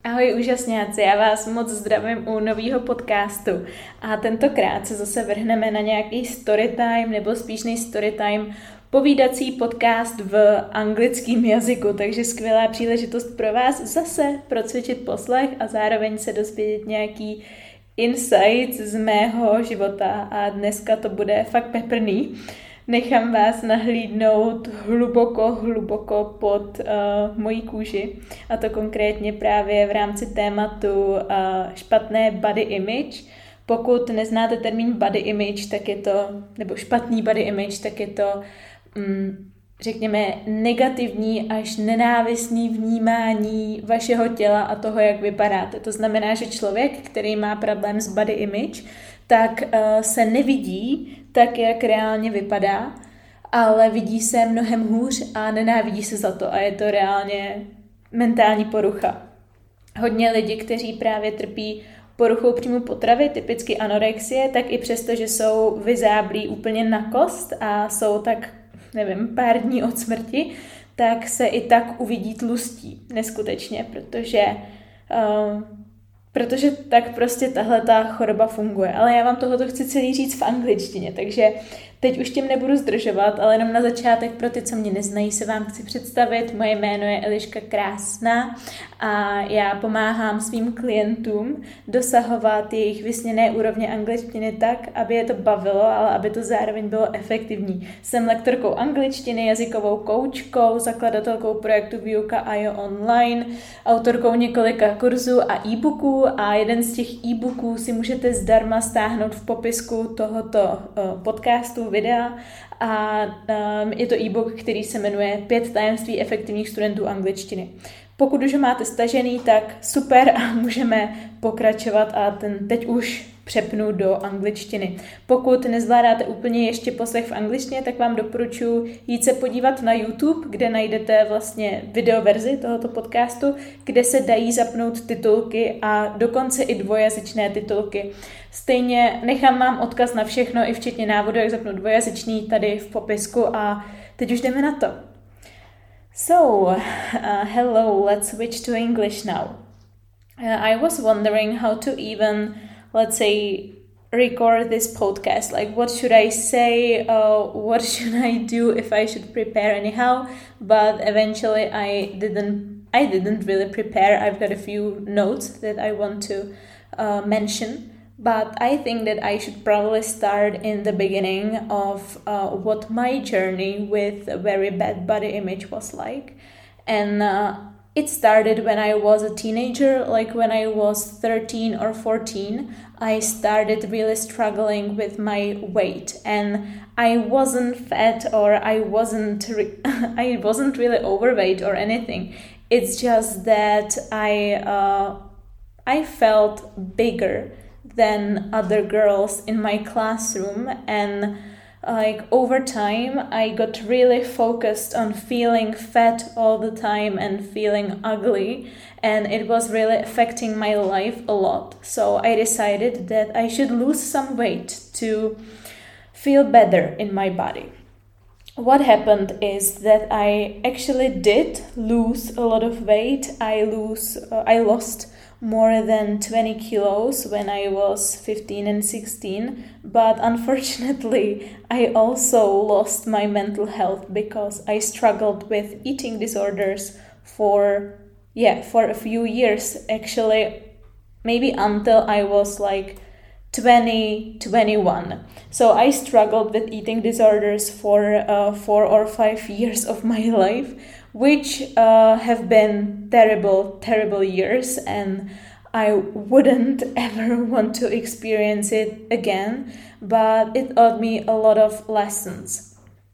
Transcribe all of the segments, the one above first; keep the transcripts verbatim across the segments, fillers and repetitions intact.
Ahoj úžasňáci, já vás moc zdravím u nového podcastu a tentokrát se zase vrhneme na nějaký storytime nebo spíš než storytime povídací podcast v anglickém jazyku, takže skvělá příležitost pro vás zase procvičit poslech a zároveň se dozvědět nějaký insights z mého života a dneska to bude fakt peprný. Nechám vás nahlídnout hluboko, hluboko pod uh, mojí kůži a to konkrétně právě v rámci tématu uh, špatné body image. Pokud neznáte termín body image, tak je to, nebo špatný body image, tak je to, um, řekněme, negativní až nenávistný vnímání vašeho těla a toho, jak vypadáte. To znamená, že člověk, který má problém s body image, tak uh, se nevidí tak, jak reálně vypadá, ale vidí se mnohem hůř a nenávidí se za to a je to reálně mentální porucha. Hodně lidí, kteří právě trpí poruchou příjmu potravy, typicky anorexie, tak i přesto, že jsou vyzáblí úplně na kost a jsou tak, nevím, pár dní od smrti, tak se i tak uvidí tlustí neskutečně, protože uh, Protože tak prostě tahle ta choroba funguje. Ale já vám tohoto chci celý říct v angličtině, takže teď už tím nebudu zdržovat, ale jenom na začátek pro ty, co mě neznají, se vám chci představit. Moje jméno je Eliška Krásná a já pomáhám svým klientům dosahovat jejich vysněné úrovně angličtiny tak, aby je to bavilo, ale aby to zároveň bylo efektivní. Jsem lektorkou angličtiny, jazykovou koučkou, zakladatelkou projektu Výuka a jo online, autorkou několika kurzů a e-booků a jeden z těch e-booků si můžete zdarma stáhnout v popisku tohoto podcastu, videa a um, je to e-book, který se jmenuje Pět tajemství efektivních studentů angličtiny. Pokud už ho máte stažený, tak super a můžeme pokračovat a ten teď už přepnu do angličtiny. Pokud nezvládáte úplně ještě poslech v angličtině, tak vám doporučuji jít se podívat na YouTube, kde najdete vlastně videoverzi tohoto podcastu, kde se dají zapnout titulky a dokonce i dvojazyčné titulky. Stejně nechám vám odkaz na všechno, i včetně návodu, jak zapnout dvojazyčný tady v popisku a teď už jdeme na to. So, uh, hello, let's switch to English now. Uh, I was wondering how to even, let's say, record this podcast. Like, what should I say? Uh, what should I do if I should prepare anyhow? But eventually, I didn't. I didn't really prepare. I've got a few notes that I want to uh, mention. But I think that I should probably start in the beginning of uh, what my journey with a very bad body image was like. And uh, it started when I was a teenager, like when I was thirteen or fourteen. I started really struggling with my weight, and I wasn't fat or I wasn't re- I wasn't really overweight or anything. It's just that I uh, I felt bigger than other girls in my classroom, and like over time I got really focused on feeling fat all the time and feeling ugly, and it was really affecting my life a lot. So I decided that I should lose some weight to feel better in my body. What happened is that I actually did lose a lot of weight. I lose uh, I lost more than twenty kilos when I was fifteen and sixteen, but unfortunately I also lost my mental health because I struggled with eating disorders for yeah for a few years, actually, maybe until I was like twenty, twenty-one. So I struggled with eating disorders for uh, four or five years of my life, which uh, have been terrible, terrible years, and I wouldn't ever want to experience it again, but it taught me a lot of lessons.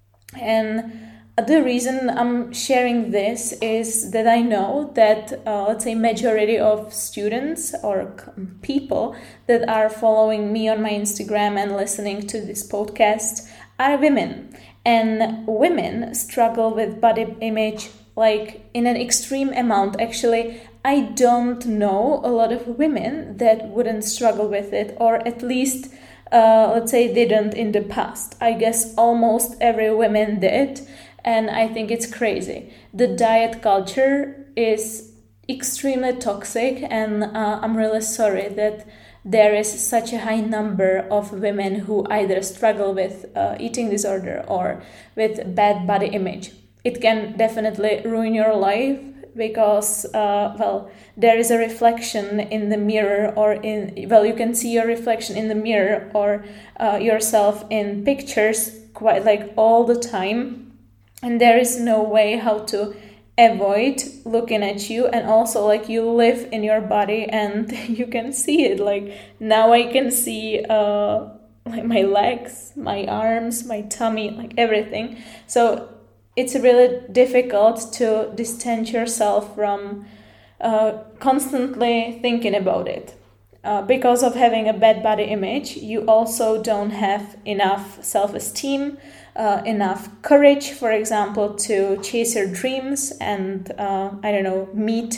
And the reason I'm sharing this is that I know that, uh, let's say, majority of students or people that are following me on my Instagram and listening to this podcast are women. And women struggle with body image like in an extreme amount. Actually, I don't know a lot of women that wouldn't struggle with it, or at least, uh, let's say, didn't in the past. I guess almost every woman did, and I think it's crazy. The diet culture is extremely toxic, and uh, I'm really sorry that there is such a high number of women who either struggle with uh, eating disorder or with bad body image. It can definitely ruin your life because, uh, well, there is a reflection in the mirror, or in, well, you can see your reflection in the mirror or uh, yourself in pictures quite like all the time. And there is no way how to avoid looking at you, and also like you live in your body and you can see it. Like now I can see uh like my legs, my arms, my tummy, like everything. So it's really difficult to distance yourself from uh, constantly thinking about it. Uh, because of having a bad body image, you also don't have enough self-esteem, uh, enough courage, for example, to chase your dreams and, uh, I don't know, meet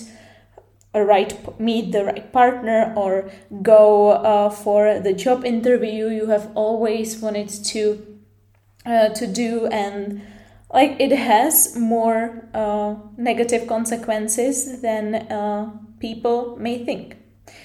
a right, meet the right partner, or go uh, for the job interview you have always wanted to uh, to do. And like it has more uh, negative consequences than uh, people may think.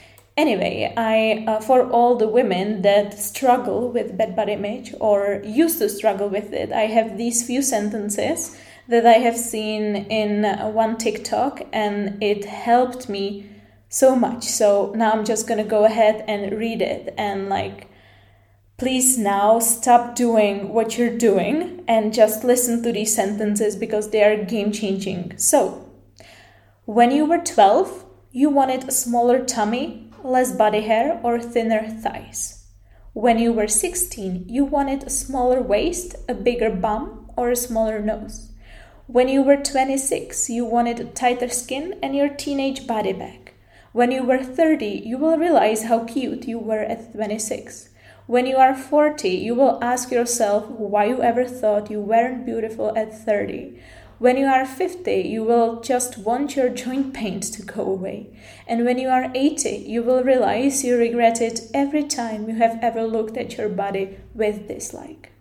Anyway, I uh, for all the women that struggle with bad body image or used to struggle with it, I have these few sentences that I have seen in uh, one TikTok, and it helped me so much. So now I'm just gonna go ahead and read it, and like, please now stop doing what you're doing and just listen to these sentences because they are game-changing. So, when you were twelve, you wanted a smaller tummy, less body hair, or thinner thighs. When you were sixteen, you wanted a smaller waist, a bigger bum, or a smaller nose. When you were twenty-six, you wanted a tighter skin and your teenage body back. When you were thirty, you will realize how cute you were at twenty-six. When you are forty, you will ask yourself why you ever thought you weren't beautiful at thirty. When you are fifty, you will just want your joint pain to go away. And when you are eighty, you will realize you regret it every time you have ever looked at your body with dislike.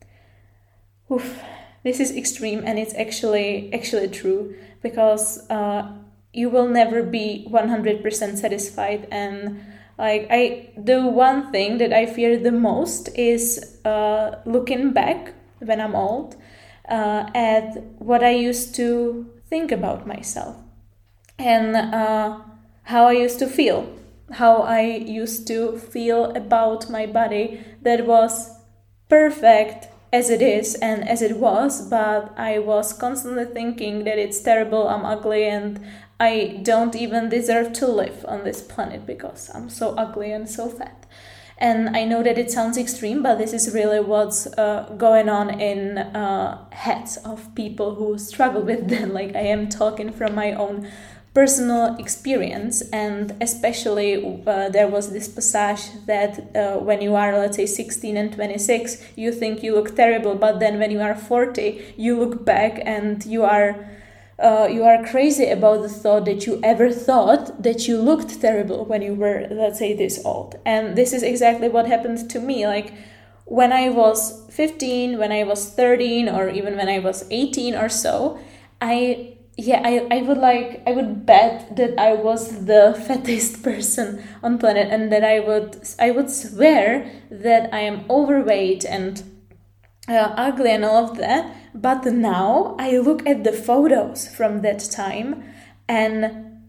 Oof, this is extreme, and it's actually actually true, because uh, you will never be one hundred percent satisfied. And like I, the one thing that I fear the most is uh, looking back when I'm old uh, at what I used to think about myself, and uh, how I used to feel, how I used to feel about my body that was perfect as it is and as it was, but I was constantly thinking that it's terrible, I'm ugly, and I don't even deserve to live on this planet because I'm so ugly and so fat. And I know that it sounds extreme, but this is really what's uh, going on in uh, heads of people who struggle with that. Like, I am talking from my own personal experience, and especially uh, there was this passage that uh, when you are, let's say, sixteen and twenty-six, you think you look terrible, but then when you are forty, you look back and you are uh, you are crazy about the thought that you ever thought that you looked terrible when you were, let's say, this old. And this is exactly what happened to me. Like, when I was fifteen, when I was thirteen, or even when I was eighteen or so, I Yeah, I, I would like I would bet that I was the fattest person on planet, and that I would I would swear that I am overweight and uh, ugly and all of that. But now I look at the photos from that time, and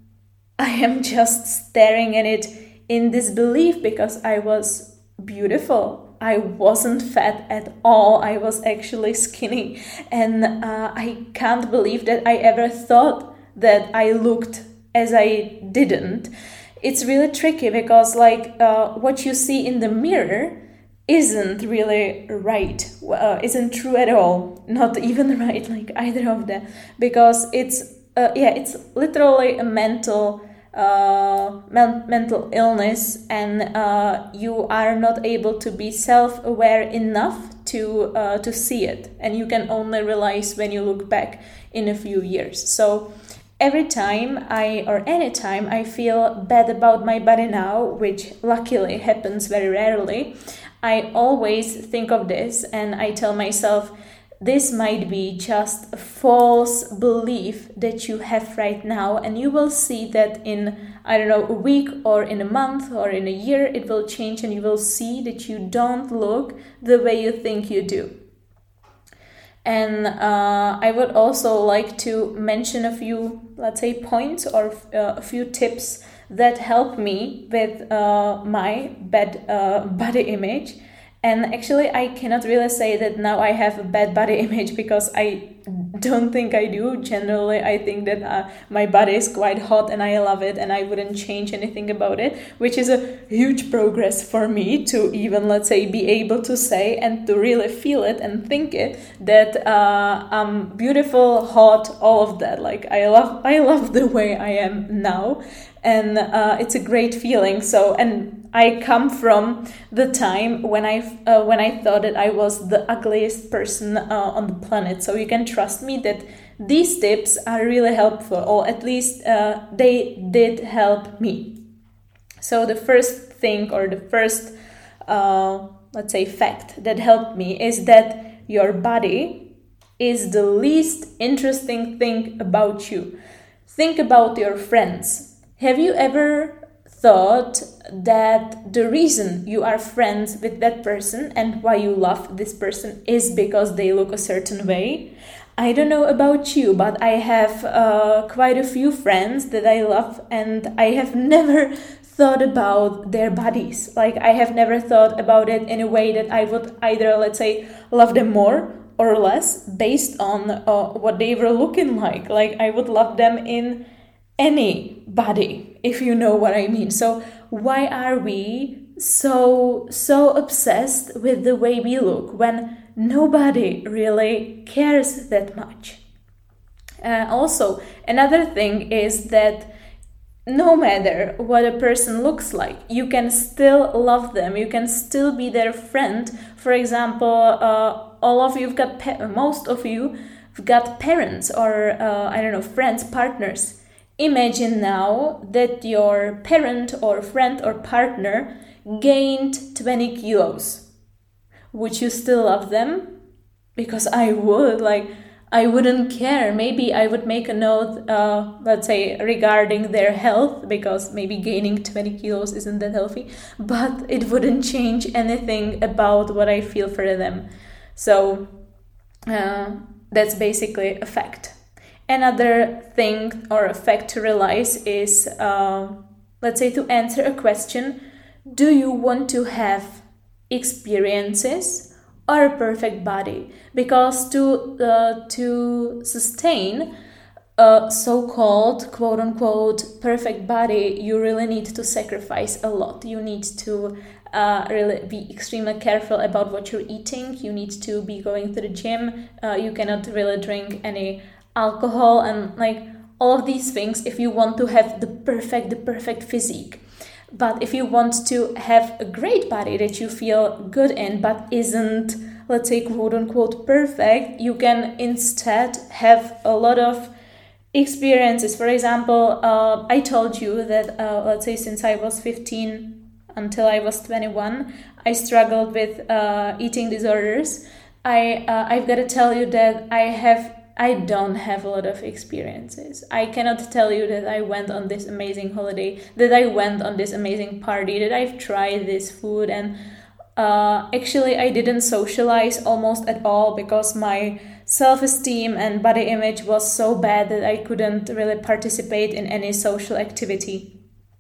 I am just staring at it in disbelief, because I was beautiful. I wasn't fat at all. I was actually skinny. And uh, I can't believe that I ever thought that I looked as I didn't. It's really tricky, because like uh, what you see in the mirror isn't really right, uh, isn't true at all. Not even right, like either of them. Because it's, uh, yeah, it's literally a mental Uh, men- mental illness, and uh, you are not able to be self-aware enough to uh, to see it, and you can only realize when you look back in a few years. So every time I or anytime I feel bad about my body now, which luckily happens very rarely, I always think of this, and I tell myself, this might be just a false belief that you have right now, and you will see that in, I don't know, a week or in a month or in a year, it will change, and you will see that you don't look the way you think you do. And uh, I would also like to mention a few, let's say, points or uh, a few tips that help me with uh, my bad uh, body image. And actually, I cannot really say that now I have a bad body image, because I don't think I do. Generally, I think that uh, my body is quite hot and I love it, and I wouldn't change anything about it, which is a huge progress for me to even, let's say, be able to say and to really feel it and think it, that uh, I'm beautiful, hot, all of that. Like, I love, I love the way I am now. And uh, it's a great feeling. So, and I come from the time when I uh, when I thought that I was the ugliest person uh, on the planet. So you can trust me that these tips are really helpful, or at least uh, they did help me. So the first thing, or the first, uh, let's say, fact that helped me is that your body is the least interesting thing about you. Think about your friends. Have you ever thought that the reason you are friends with that person and why you love this person is because they look a certain way? I don't know about you, but I have uh, quite a few friends that I love, and I have never thought about their bodies. Like, I have never thought about it in a way that I would either, let's say, love them more or less based on uh, what they were looking like. Like, I would love them in any body, if you know what I mean. So why are we so so obsessed with the way we look when nobody really cares that much? Uh, also, another thing is that no matter what a person looks like, you can still love them. You can still be their friend. For example, uh, all of you've got pa- most of you have got parents, or uh, I don't know, friends, partners. Imagine now that your parent or friend or partner gained twenty kilos. Would you still love them? Because I would. Like, I wouldn't care. Maybe I would make a note, uh, let's say, regarding their health, because maybe gaining twenty kilos isn't that healthy, but it wouldn't change anything about what I feel for them. So uh, that's basically a fact. Another thing or a fact to realize is, uh, let's say, to answer a question, do you want to have experiences or a perfect body? Because to uh, to sustain a so-called, quote-unquote, perfect body, you really need to sacrifice a lot. You need to uh, really be extremely careful about what you're eating. You need to be going to the gym. Uh, you cannot really drink any alcohol and like all of these things if you want to have the perfect the perfect physique. But if you want to have a great body that you feel good in but isn't, let's say, quote unquote perfect, you can instead have a lot of experiences. For example, uh, I told you that uh, let's say since I was fifteen until I was twenty-one, I struggled with uh, eating disorders. I uh, I've got to tell you that I have I don't have a lot of experiences. I cannot tell you that I went on this amazing holiday, that I went on this amazing party, that I've tried this food, and uh, actually I didn't socialize almost at all because my self-esteem and body image was so bad that I couldn't really participate in any social activity.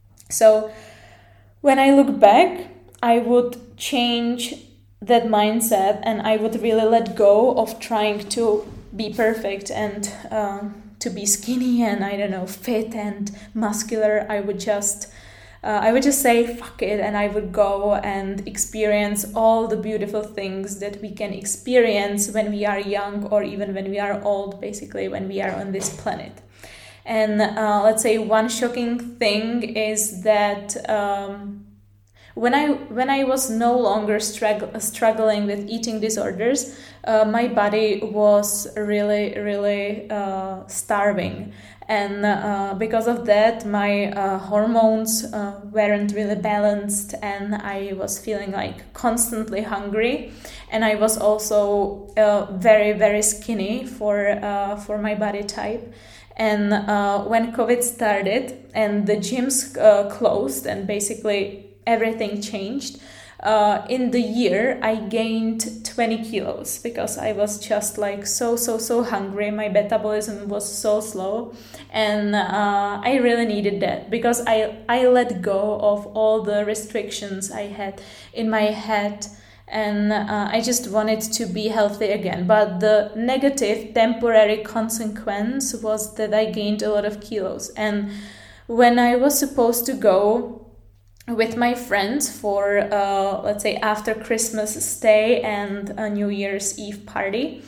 So when I look back, I would change that mindset and I would really let go of trying to be perfect and uh, to be skinny and I don't know, fit and muscular. I would just uh, I would just say fuck it, and I would go and experience all the beautiful things that we can experience when we are young or even when we are old, basically when we are on this planet. And uh, let's say one shocking thing is that um, When I when I was no longer strugg- struggling with eating disorders, uh, my body was really, really uh, starving. And uh, because of that, my uh, hormones uh, weren't really balanced, and I was feeling like constantly hungry. And I was also uh, very, very skinny for uh, for my body type. And uh, when COVID started and the gyms uh, closed and basically everything changed, uh, in the year I gained twenty kilos because I was just like so, so, so hungry. My metabolism was so slow, and uh, I really needed that because I, I let go of all the restrictions I had in my head. And uh, I just wanted to be healthy again. But the negative temporary consequence was that I gained a lot of kilos. And when I was supposed to go with my friends for, uh, let's say, after Christmas stay and a New Year's Eve party,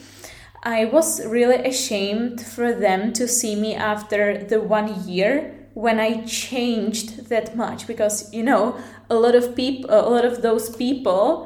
I was really ashamed for them to see me after the one year when I changed that much. Because, you know, a lot of people, a lot of those people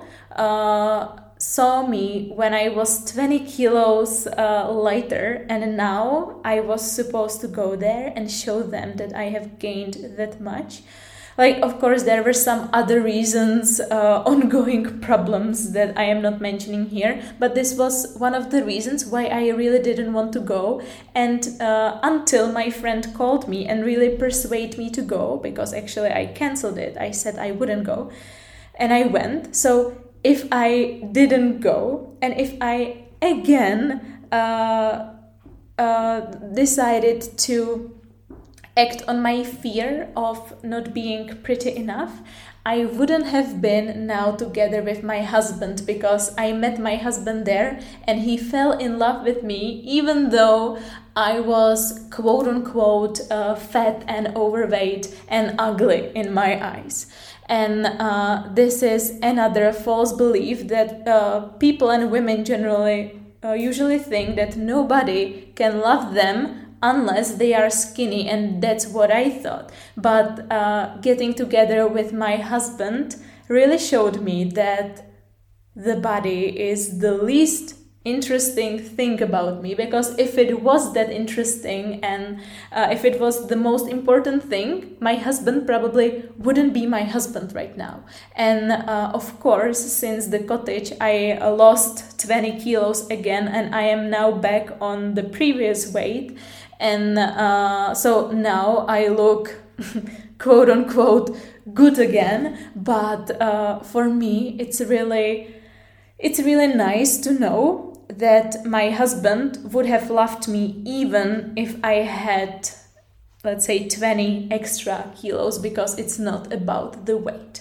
Uh, saw me when I was twenty kilos uh, lighter, and now I was supposed to go there and show them that I have gained that much. Like, of course, there were some other reasons, uh, ongoing problems that I am not mentioning here, but this was one of the reasons why I really didn't want to go. And uh, until my friend called me and really persuaded me to go, because actually I cancelled it. I said I wouldn't go, and I went. So if I didn't go, and if I again uh, uh, decided to act on my fear of not being pretty enough, I wouldn't have been now together with my husband, because I met my husband there and he fell in love with me even though I was quote unquote uh, fat and overweight and ugly in my eyes. And uh, this is another false belief that uh, people and women generally uh, usually think that nobody can love them unless they are skinny, and that's what I thought. But uh, getting together with my husband really showed me that the body is the least interesting thing about me, because if it was that interesting and uh, if it was the most important thing, my husband probably wouldn't be my husband right now. And uh, of course, since the cottage, I uh, lost twenty kilos again, and I am now back on the previous weight. And uh, so now I look quote unquote good again. But uh, for me, it's really it's really nice to know that my husband would have loved me even if I had, let's say, twenty extra kilos, because it's not about the weight.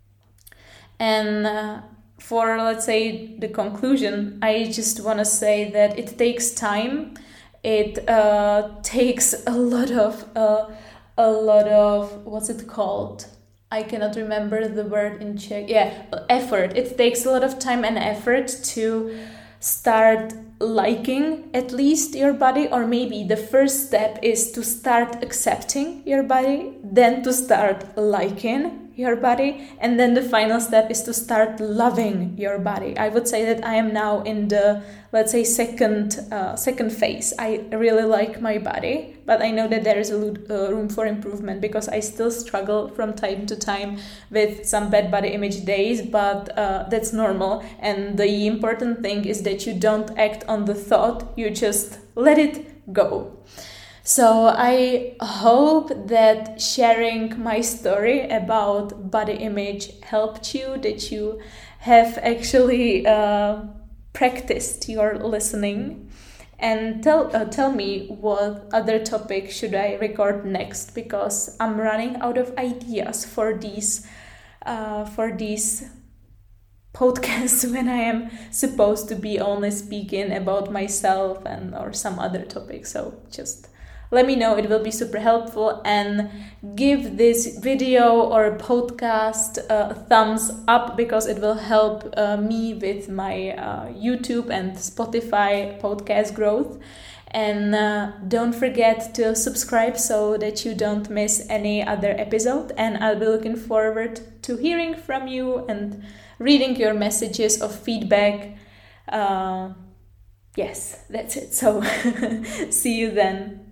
And uh, for, let's say, the conclusion, I just want to say that it takes time. It uh, takes a lot of, uh, a lot of, what's it called? I cannot remember the word in Czech. Yeah, effort. It takes a lot of time and effort to start liking at least your body, or maybe the first step is to start accepting your body, then to start liking your body, and then the final step is to start loving your body. I would say that I am now in the, let's say, second uh, second phase. I really like my body, but I know that there is a lo- uh, room for improvement, because I still struggle from time to time with some bad body image days, but uh, that's normal. And the important thing is that you don't act on the thought, you just let it go. So I hope that sharing my story about body image helped you, that you have actually uh, practiced your listening. And tell uh, tell me what other topic should I record next, because I'm running out of ideas for these uh, for these podcasts when I am supposed to be only speaking about myself and or some other topic. So just let me know, it will be super helpful, and give this video or podcast a thumbs up, because it will help uh, me with my uh, YouTube and Spotify podcast growth. And uh, don't forget to subscribe so that you don't miss any other episode. And I'll be looking forward to hearing from you and reading your messages of feedback. Uh, yes, that's it. So see you then.